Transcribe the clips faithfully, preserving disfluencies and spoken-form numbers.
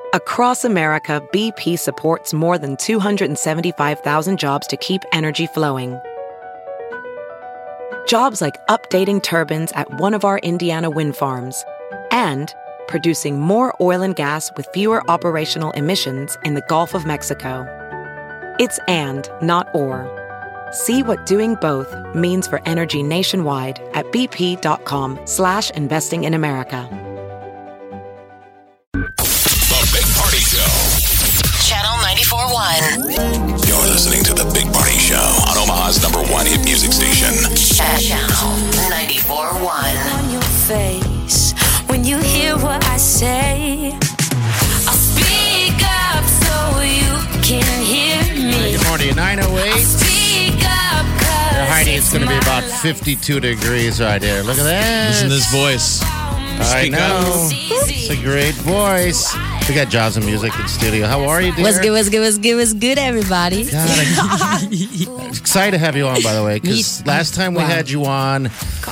Across America, B P supports more than two hundred seventy-five thousand jobs to keep energy flowing. Jobs like updating turbines at one of our Indiana wind farms and producing more oil and gas with fewer operational emissions in the Gulf of Mexico. It's and, not or. See what doing both means for energy nationwide at bp.com slash investing in America. The Big Party Show. Channel ninety-four point one. You're listening to The Big Party Show on Omaha's number one hit music station. Channel ninety-four point one. On your face, when you hear what I say, I'll speak up so you can hear me. Good morning, nine oh eight. Speak up, cause Heidi, it's going to be about my fifty-two degrees right here. Look at that. Listen to this voice. I Speak know. up. It's a great voice. We got Jaws and Music in studio. How are you, dear? What's good, what's good, what's good, what's good, everybody? God, I'm excited to have you on, by the way, because last time we Wow. had you on,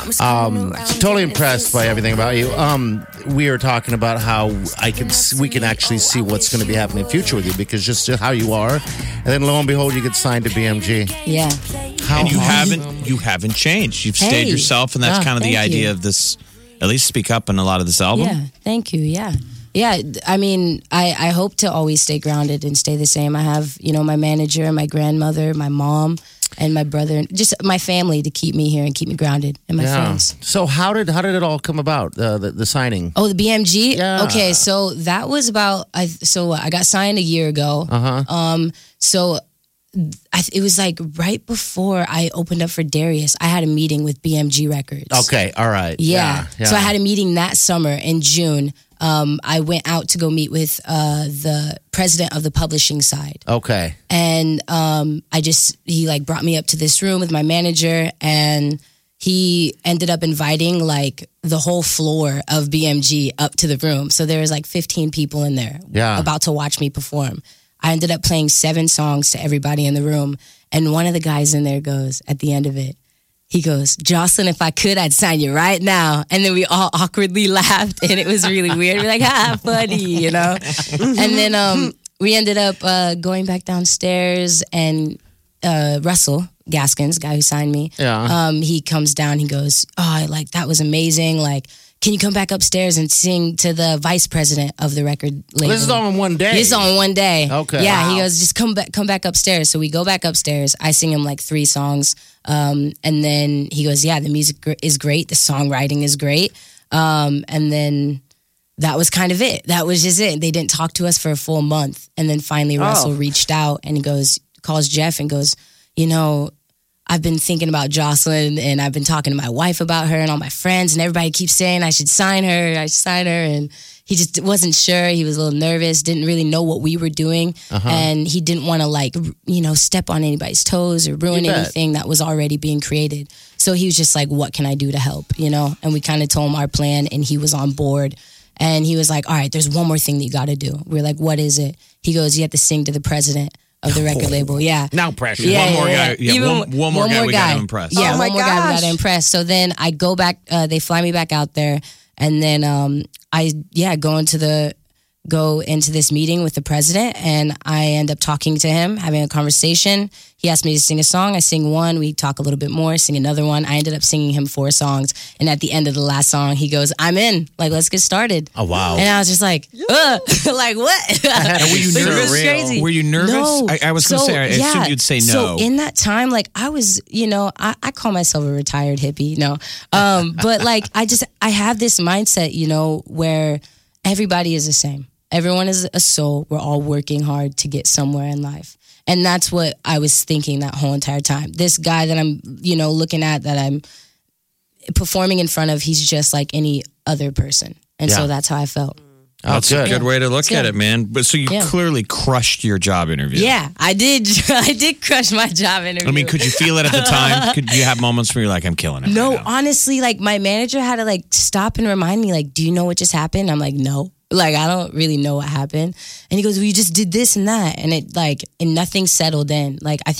um, totally impressed by everything about you. Um, we were talking about how I can, we can actually see what's going to be happening in the future with you, because just how you are, and then lo and behold, you get signed to B M G. Yeah. How And you awesome. haven't you haven't changed. You've Hey. stayed yourself, and that's Ah, kind of the thank idea you. of this. At least speak up in a lot of this album. Yeah, thank you. Yeah. Yeah, I mean, I, I hope to always stay grounded and stay the same. I have, you know, my manager, my grandmother, my mom, and my brother, and just my family to keep me here and keep me grounded, and my Yeah. friends. So how did how did it all come about? Uh, the the signing. Oh, the B M G? Yeah. Okay, so that was about, I so I got signed a year ago. Uh huh. Um, so I, it was like right before I opened up for Darius, I had a meeting with B M G Records. Okay. All right. Yeah. yeah. So I had a meeting that summer in June. Um, I went out to go meet with uh, the president of the publishing side. Okay. And um, I just, he like brought me up to this room with my manager, and he ended up inviting like the whole floor of B M G up to the room. So there was like fifteen people in there Yeah. about to watch me perform. I ended up playing seven songs to everybody in the room. And one of the guys in there goes, at the end of it, he goes, Jocelyn, if I could, I'd sign you right now. And then we all awkwardly laughed, and it was really weird. We're like, ah, funny, you know? And then um, we ended up uh, going back downstairs, and uh, Russell Gaskins, guy who signed me, Yeah. um, he comes down, he goes, oh, like, that was amazing. Like, can you come back upstairs and sing to the vice president of the record label? This is all in one day. This is all in one day. Okay. Yeah, Wow. he goes, just come back, come back upstairs. So we go back upstairs. I sing him like three songs, um, and then he goes, yeah, the music gr- is great, the songwriting is great, um, and then that was kind of it. That was just it. They didn't talk to us for a full month, and then finally Russell Oh. reached out, and he goes, calls Jeff and goes, you know, I've been thinking about Jocelyn, and I've been talking to my wife about her and all my friends, and everybody keeps saying I should sign her, I should sign her. And he just wasn't sure. He was a little nervous, didn't really know what we were doing. Uh-huh. And he didn't want to like, you know, step on anybody's toes or ruin You bet. anything that was already being created. So he was just like, what can I do to help, you know? And we kind of told him our plan, and he was on board. And he was like, all right, there's one more thing that you got to do. We we're like, what is it? He goes, you have to sing to the president of the record label. Yeah. Now pressure. Yeah, One more yeah, guy- yeah, Even one- one more guy we gotta impress. Yeah, Oh my one more guy we gosh. gotta impress. So then I go back. Uh, they fly me back out there, and then um, I yeah go into the go into this meeting with the president, and I end up talking to him, having a conversation. He asked me to sing a song. I sing one. We talk a little bit more, sing another one. I ended up singing him four songs, and at the end of the last song, he goes, "I'm in. Like, let's get started." Oh, wow. And I was just like, Ugh. like what? And were you It was nervous? crazy. Were you nervous? No. I- I was gonna So, say, I assumed you'd say no. So in that time, like I was, you know, I, I call myself a retired hippie, no, um, but like I just I have this mindset, you know, where everybody is the same. Everyone is a soul. We're all working hard to get somewhere in life. And that's what I was thinking that whole entire time. This guy that I'm, you know, looking at, that I'm performing in front of, he's just like any other person. And Yeah. so that's how I felt. Oh, That's good. a good way to look Yeah. at it, man. But so you Yeah. clearly crushed your job interview. Yeah, I did. I did crush my job interview. I mean, could you feel it at the time? Could you have moments where you're like, I'm killing it? No, right now? honestly, like my manager had to like stop and remind me, like, do you know what just happened? I'm like, no. Like, I don't really know what happened. And he goes, well, you just did this and that. And it like, and nothing settled in. Like, I think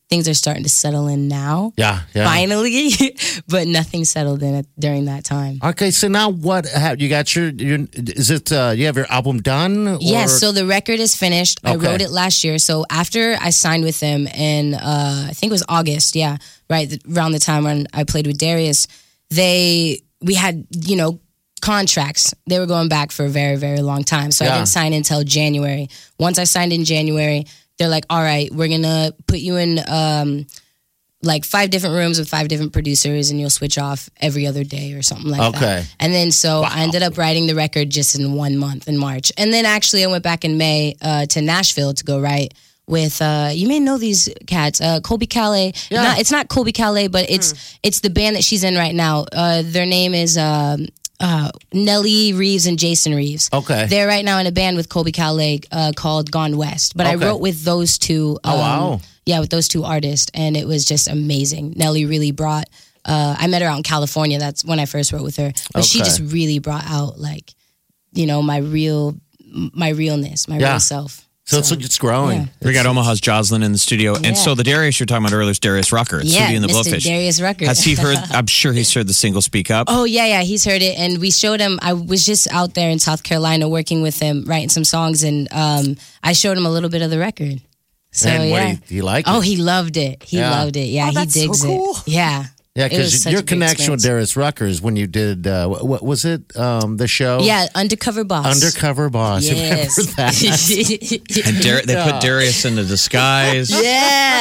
things are starting to settle in now. Yeah, yeah. Finally, but nothing settled in during that time. Okay, so now what? Have you got your? your is it? Uh, you have your album done? Or? Yes. So the record is finished. I Okay. wrote it last year. So after I signed with them in, uh, I think it was August. Yeah, right around the time when I played with Darius, they we had you know contracts. They were going back for a very very long time. So Yeah. I didn't sign until January. Once I signed in January, they're like, all right, we're gonna put you in. Um, like five different rooms with five different producers and you'll switch off every other day or something like Okay. that. And then so I ended up writing the record just in one month in March. And then actually I went back in May uh, to Nashville to go write with, uh, you may know these cats, uh, Colby Calais. Yeah. Not, it's not Colby Calais, but it's it's the band that she's in right now. Uh, their name is um, uh, Nellie Reeves and Jason Reeves. Okay. They're right now in a band with Colby Calais uh, called Gone West. But I Okay. wrote with those two. Oh, wow. Yeah, with those two artists, and it was just amazing. Nelly really brought. Uh, I met her out in California. That's when I first wrote with her, but she Okay. just really brought out like, you know, my real, my realness, my Yeah. real self. So it's it's growing. yeah. We got Omaha's Jocelyn in the studio. Yeah. And so the Darius you're talking about earlier is Darius Rucker. It's Yeah, Sweetie and the Mister Blowfish. Darius Rucker. Has he heard, I'm sure he's heard the single Speak Up. Oh yeah, yeah, he's heard it, and we showed him. I was just out there in South Carolina working with him, writing some songs, and um, I showed him a little bit of the record. So And what yeah, do you- do you like Oh, it? he loved it. He Yeah. loved it. Yeah, Oh, he that's so digs cool. it. Yeah, Yeah, It was because such your a great connection with experience. Darius Rucker is when you did uh, what, what was it? Um, the show. Yeah, Undercover Boss. Undercover Boss. Yes. Remember that? And Dar- they put Darius in the disguise. Yeah.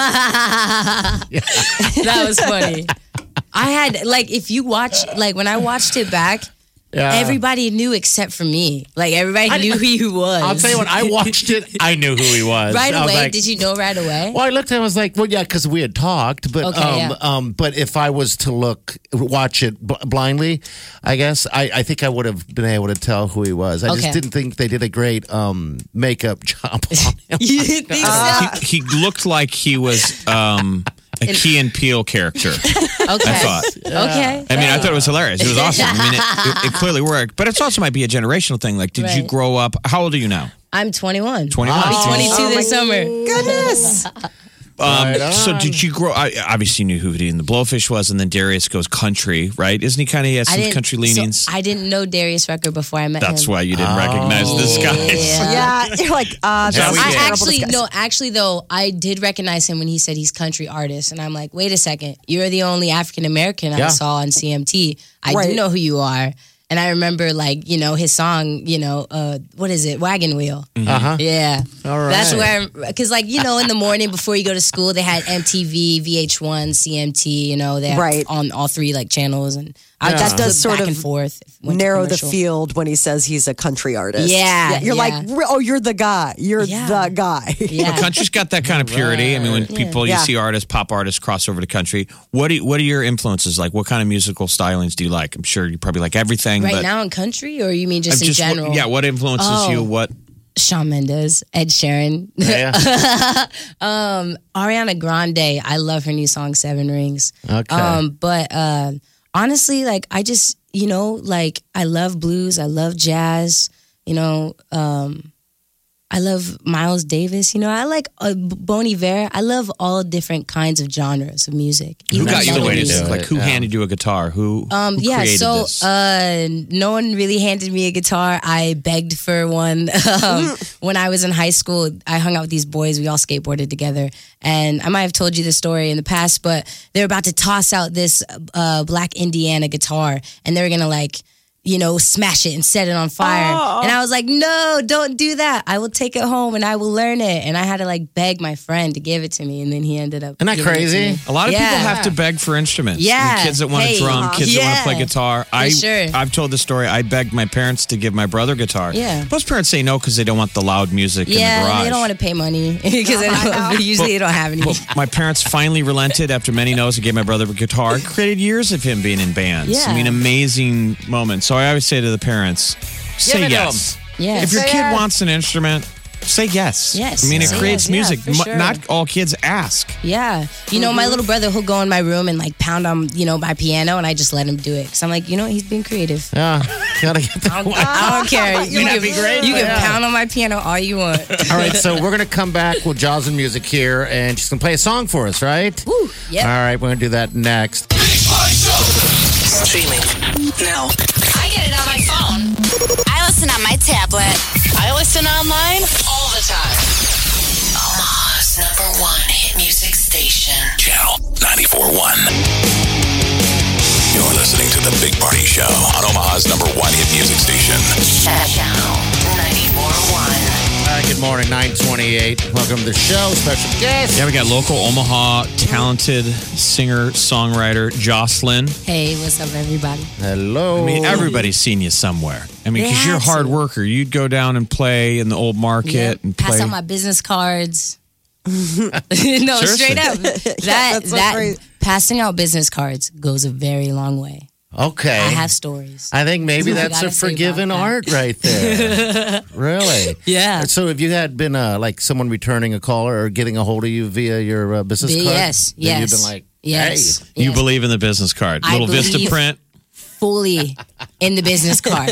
That was funny. I had, like, if you watch, like, when I watched it back, Yeah. everybody knew except for me. Like, everybody I- knew who he was. I'll tell you what. I watched it. I knew who he was. Right I was away? like- Did you know right away? Well, I looked at it. I was like, well, yeah, because we had talked, but Okay, um, yeah. um, but if I was to look, watch it bl- blindly, I guess I, I think I would have been able to tell who he was. I Okay. just didn't think they did a great um makeup job on him. You didn't think so? He, he looked like he was um, a Key and Peele character. Okay. I thought. Okay. I mean, I thought it was hilarious. It was awesome. I mean, it, it, it clearly worked. But it also might be a generational thing. Like, did you Right. grow up? How old are you now? I'm twenty-one. twenty-one. I'll be Oh. twenty-two Oh, this my summer. Goodness. Um, Right so on. did you grow? I obviously knew who Hootie and the Blowfish was, and then Darius goes country, right? Isn't he kind of he has I some didn't- country leanings? So I didn't know Darius Rucker before I met him. That's why you didn't recognize this guy. Yeah. Yeah, you're like, uh, Yeah, that's we I did. terrible actually disguise. no, actually though, I did recognize him when he said he's country artist, and I'm like, wait a second, you're the only African American I Yeah. saw on C M T. I Right. do know who you are, and I remember like you know his song, you know, uh, what is it, Wagon Wheel? Uh huh. Yeah, All right. that's where because like you know in the morning before you go to school they had M T V, V H one, C M T, you know, they Right. on all three like channels, and I Yeah. just That does flip sort back of and forth. went to narrow the commercial. field when he says he's a country artist. Yeah, You're yeah. like, re- oh, you're the guy. You're Yeah. the guy. Yeah. But country's got that kind of purity. I mean, when people you Yeah. see artists, pop artists cross over to country, what do you, what are your influences like? What kind of musical stylings do you like? I'm sure you probably like everything. Right but now in country, or you mean just I'm in just what- general? yeah. What influences Oh. you? What? Shawn Mendes, Ed Sheeran, Yeah. Ariana Grande. I love her new song Seven Rings. Okay. Um, but uh, honestly, like I just, you know, like I love blues, I love jazz, you know, um, I love Miles Davis, you know, I like uh, Bon Iver. I love all different kinds of genres of music. Who even got you the way to melodies. do it? Like who Yeah. handed you a guitar? Who? Um, who yeah, created so this? uh, no one really handed me a guitar. I begged for one. um, when I was in high school, I hung out with these boys. We all skateboarded together. And I might have told you this story in the past, but they were about to toss out this uh, Black Indiana guitar. And they were going to like, you know, smash it and set it on fire. Oh. And I was like, no, don't do that. I will take it home and I will learn it. And I had to like beg my friend to give it to me. And then he ended up. Isn't that giving it to crazy? me. A lot of Yeah. people have to beg for instruments. Yeah. I mean, kids that want Hey, to drum, kids that want to play yeah. guitar. I, sure. I've told the story. I begged my parents to give my brother guitar. Yeah. Most parents say no because they don't want the loud music in the Yeah, garage. they don't want to pay money because they don't, usually they don't have any. Well, my parents finally relented after many no's and gave my brother a guitar. It created years of him being in bands. Yeah. I mean, amazing moments. So I always say to the parents, say it to yes. Yeah. If your Say kid yes. wants an instrument, say yes. Yes. I mean, it Say creates yes, yeah, music. for Mu- sure. Not all kids ask. Yeah. You know, my little brother, he'll go in my room and like pound on, you know, my piano and I just let him do it. Because I'm like, you know, he's being creative. Yeah. Gotta get that I don't, one. I don't care. You That'd can, be great, you can yeah. pound on my piano all you want. All right, so we're gonna come back with Jaws and Music here, and she's gonna play a song for us, right? Woo, yep. All right, we're gonna do that next. Streaming now. I get it on my phone. I listen on my tablet. I listen online all the time. Omaha's number one hit music station. Channel ninety-four point one. You're listening to The Big Party Show on Omaha's number one hit music station. Channel ninety-four point one. Uh, good morning, nine twenty-eight. Welcome to the show. Special guest. Yeah, we got local Omaha talented singer songwriter Jocelyn. Hey, what's up, everybody? Hello. I mean, everybody's seen you somewhere. I mean, They because you're a have hard to. worker. You'd go down and play in the old market Yep. and Pass play. out my business cards. no, Seriously. straight up. That that's so that great. passing out business cards goes a very long way. Okay. I have stories. I think maybe I that's a gotta say forgiven about that. art right there. Really? Yeah. So if you had been uh, like someone returning a call or getting a hold of you via your uh, business card, Yes, then you've yes. been like, Yes. hey. You yes. believe in the business card. I Little Vista believe- print. fully in the business card.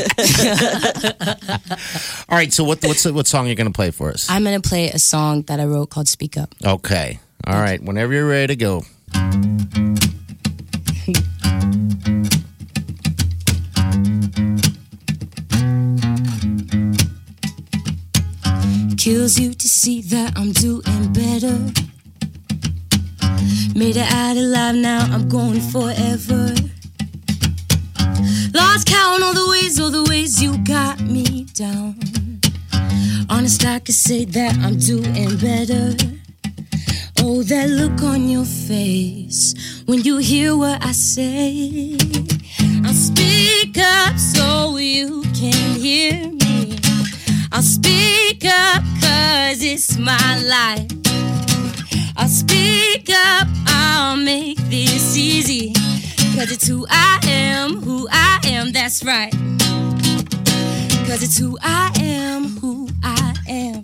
All right, so what what's the, what song are you going to play for us? I'm going to play a song that I wrote called Speak Up. Okay. All right, whenever you're ready to go. Kills you to see that I'm doing better. Made it out alive, now I'm going forever. Lost count all the ways, all the ways you got me down. Honest, I could say that I'm doing better. Oh, that look on your face when you hear what I say. I'll speak up so you can hear me. I'll speak up cause it's my life. I'll speak up, I'll make this easy. Cause it's who I am, who I am, that's right. Cause it's who I am, who I am.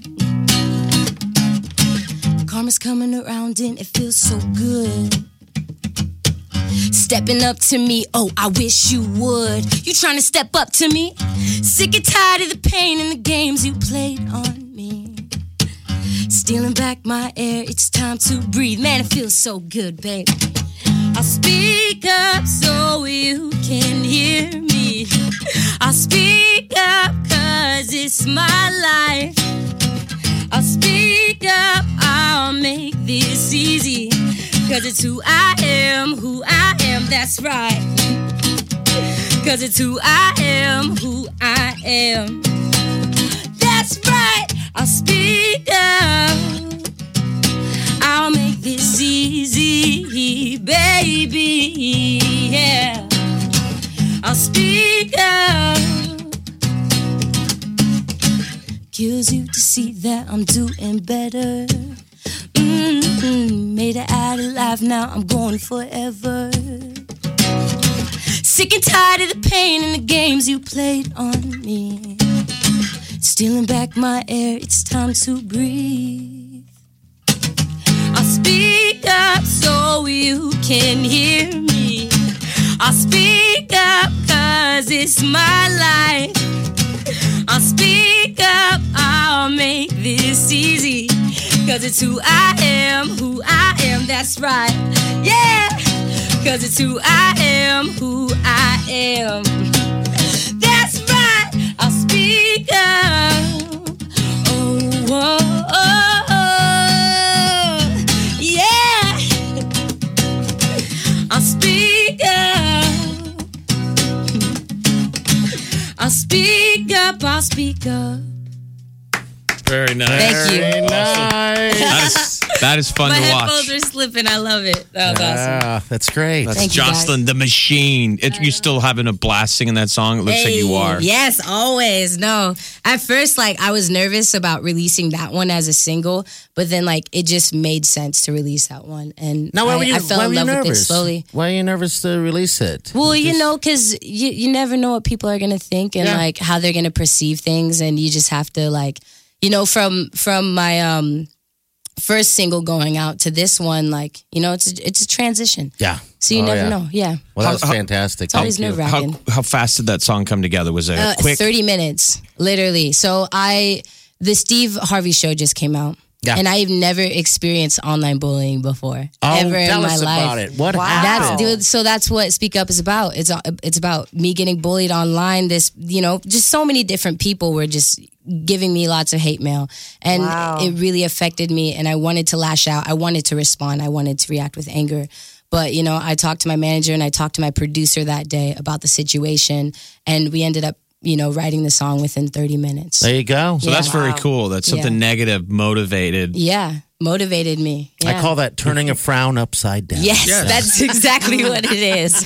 Karma's coming around and it feels so good. Stepping up to me, oh, I wish you would. You trying to step up to me? Sick and tired of the pain and the games you played on me. Stealing back my air, it's time to breathe. Man, it feels so good, babe. I'll speak up so you can hear me. I'll speak up cause it's my life. I'll speak up, I'll make this easy. Cause it's who I am, who I am, that's right. Cause it's who I am, who I am. That's right, I'll speak up. I'll make this easy, baby, yeah. I'll speak up. Kills you to see that I'm doing better. Mm-hmm. Made it out alive, now I'm going forever. Sick and tired of the pain and the games you played on me. Stealing back my air, it's time to breathe. I'll speak up so you can hear me. I'll speak up cause it's my life. I'll speak up, I'll make this easy. Cause it's who I am, who I am, that's right. Yeah, cause it's who I am, who I am. That's right, I'll speak up. Oh, oh, oh, oh. Yeah. I'll speak up. I'll speak up, I'll speak up. Very nice. Thank you. Very nice. That is, that is fun My to headphones watch. are slipping. I love it. That was awesome. Ah, that's great. That's Thank you, guys. Jocelyn the Machine. It, you still having a blast singing that song? It looks like you Hey, are. Yes, always. No. At first, like, I was nervous about releasing that one as a single, but then, like, it just made sense to release that one. And Now, why I, were you, I fell why in were you love with it nervous? slowly. Why are you nervous to release it? Well, you Just- know, because you, you never know what people are going to think and, Yeah. like, how they're going to perceive things. And you just have to, like, you know, from from my um first single going out to this one, like, you know, it's a, it's a transition. Yeah. So you Oh, never yeah. know. Yeah. Well, that was How- how- fantastic. It's always Thank you. nerve How wracking. how fast did that song come together? Was it Uh, quick? thirty minutes, literally. So I, the Steve Harvey show just came out. Yeah. And I've never experienced online bullying before. Oh, ever in tell my us life. about it. What Wow. That's happened? dude. So that's what Speak Up is about. It's it's about me getting bullied online. This, you know, just so many different people were just giving me lots of hate mail, and Wow. it really affected me. And I wanted to lash out. I wanted to respond. I wanted to react with anger. But you know, I talked to my manager and I talked to my producer that day about the situation, and we ended up, you know, writing the song within thirty minutes. There you go. So that's very cool. That's something Yeah. negative motivated. Yeah, motivated me. I Yeah. call that turning a frown upside down. Yes, that's exactly what it is.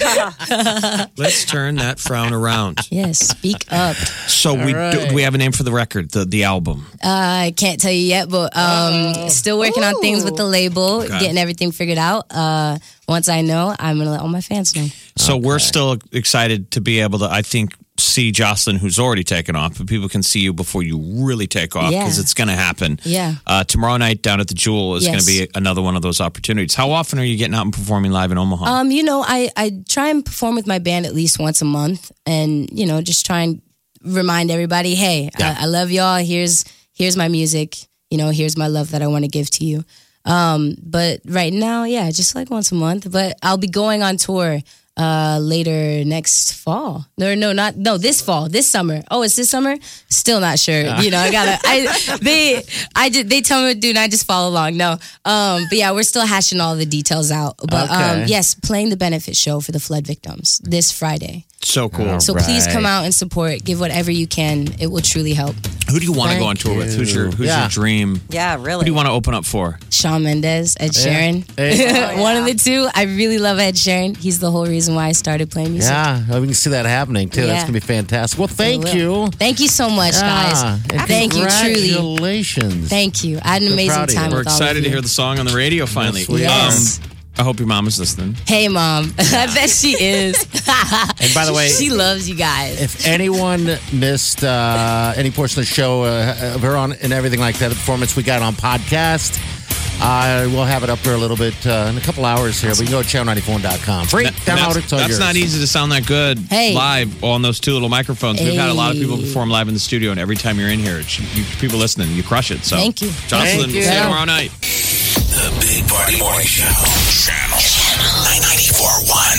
Let's turn that frown around. Yes, speak up. So we do, right. do we have a name for the record, the the album? Uh, I can't tell you yet, but um, still working on things with the label, Okay. getting everything figured out. Uh, once I know, I'm gonna let all my fans know. So we're still excited to be able to, I think, see Jocelyn, who's already taken off, but people can see you before you really take off because Yeah. it's going to happen. Yeah. Uh, tomorrow night down at the Jewel is Yes. going to be another one of those opportunities. How often are you getting out and performing live in Omaha? Um, you know, I I try and perform with my band at least once a month, and you know, just try and remind everybody, hey, Yeah. I, I love y'all. Here's here's my music. You know, here's my love that I want to give to you. Um, but right now, yeah, just like once a month. But I'll be going on tour uh later next fall. No, no, not no, this fall, this summer. Oh, it's this summer? Still not sure. You know, I gotta I they I did they tell me to do and I just follow along. No. Um, but yeah, we're still hashing all the details out. But Okay. um yes, playing the benefit show for the flood victims this Friday. so cool. So Right. please come out and support. Give whatever you can. It will truly help. Who do you want to go on Thank tour with? Who's your Who's Yeah. your dream? Yeah, Who really. do you want to open up for? Shawn Mendes, Ed Sheeran. Hey. One of the two. I really love Ed Sheeran. He's the whole reason why I started playing music. Yeah, we can see that happening too. That's Yeah. gonna be fantastic. Well, thank I will. you. Thank you so much, Yeah, guys. and Thank you, truly. Congratulations. Thank you. I had an So amazing proud of you. time We're with all excited of to you. hear the song on the radio finally. Yes, we Yes. Um, I hope your mom is listening. Hey, Mom. I bet she is. And by the way, she loves you guys. if anyone missed uh, any portion of the show uh, of her on and everything like that, the performance we got on podcast, uh, we'll have it up there a little bit uh, in a couple hours here. We can go to channel ninety-four dot com. Free That- download that's it. It's all that's yours. not easy to sound that good Hey. live on those two little microphones. We've had a lot of people Hey. perform live in the studio, and every time you're in here, it's, you, people listening, you crush it. So Thank you. Jocelyn, Thank you. see you tomorrow night. The Big Party Morning Show. Channel ninety-four point one.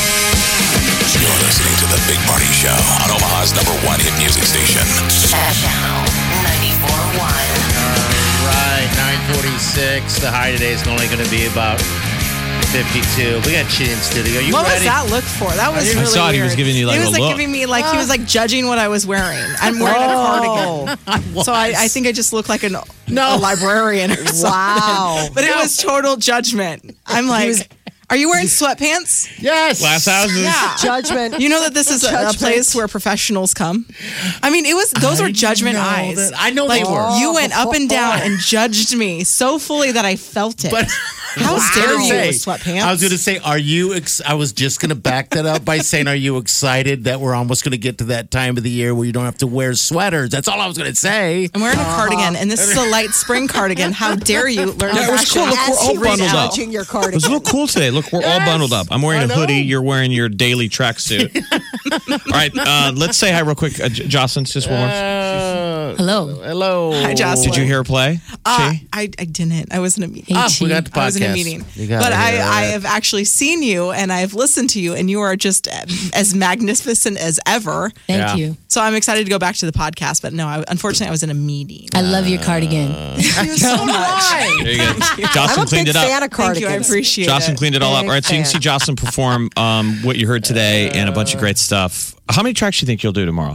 You're listening to The Big Party Show on Omaha's number one hit music station. Channel ninety-four point one. Right, nine forty-six. The high today is only going to be about fifty-two. We got Chitty in studio. You What ready? was that look for? That was I really saw it. He was weird. giving you, like, He a was like look. giving me like he was like judging what I was wearing. I'm wearing a cardigan, so I, I think I just look like an No. a librarian or something. Wow. But it was total judgment. I'm like, are you wearing sweatpants? Yes. Glass houses. Yeah. Judgment. You know that this is a, a Judgment. place where professionals come. I mean, it was those I were judgment know eyes. that- I know like, they were. You went up and down and judged me so fully that I felt it. But How I was dare gonna you say- with sweatpants? I was going to say, are you? Ex- I was just going to back that up by saying, are you excited that we're almost going to get to that time of the year where you don't have to wear sweaters? That's all I was going to say. I'm wearing a cardigan, and this is a light spring cardigan. How dare you learn Yeah, it was fashion? cool. Look, we're As all he was bundled up. judging your It was cardigan. a little cool today. Look, we're all Yes. bundled up. I'm wearing I a know. hoodie. You're wearing your daily tracksuit. All right, uh, let's say hi real quick. Uh, J- Jocelyn, just one more. Uh, Hello. hello. Hi, Jocelyn. Did you hear her play? Uh, Chi? I, I didn't. I was in a meeting. Ah, Hey, we Chi. got the podcast. I was in a meeting. You got But it. I, All I right. have actually seen you and I've listened to you, and you are just as magnificent as ever. Thank Yeah. you. So I'm excited to go back to the podcast. But no, I, unfortunately, I was in a meeting. I love your cardigan. Thank you so much. There you go. I'm Jocelyn a cleaned big it up. fan of Thank you. I cardigans. appreciate Jocelyn it. cleaned it all up. Big All right, so you can fan. see Jocelyn perform um, what you heard today and a bunch of great stuff. How many tracks do you think you'll do tomorrow?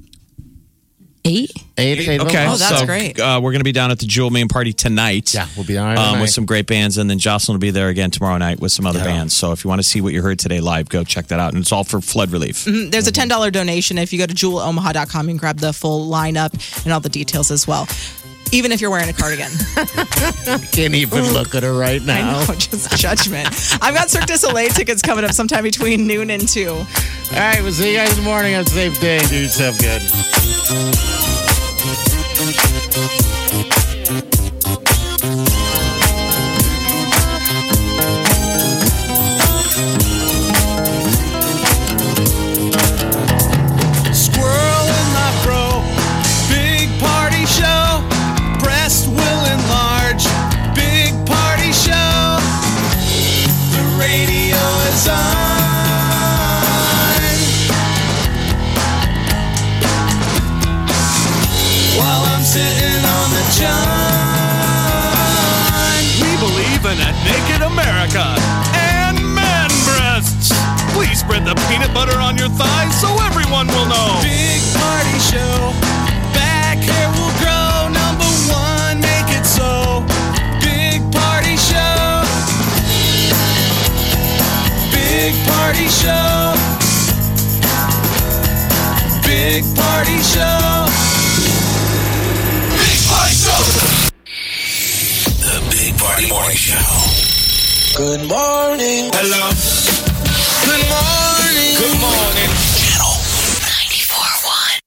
Eight? Eight, eight, Okay, Oh, that's so, great. Uh, we're going to be down at the Jewel Main Party tonight. Yeah, we'll be all right um, tonight. with some great bands, and then Jocelyn will be there again tomorrow night with some other Yeah. bands. So if you want to see what you heard today live, go check that out, and it's all for flood relief. There's a ten dollars donation. If you go to jewel omaha dot com, you can grab the full lineup and all the details as well. Even if you're wearing a cardigan. Can't even look at her right I now. know, just judgment. I've got Cirque du Soleil tickets coming up sometime between noon and two. All right, we'll see you guys in the morning. Have a safe day. Do yourself good. I'm sitting on the john. We believe in a naked America and man breasts. Please spread the peanut butter on your thighs so everyone will know. Big party show. Back hair will grow. Number one, make it so. Big party show. Big party show. Big party show. Big Party Show. The Big Party Morning Show. Good morning. Hello. Good morning. Good morning.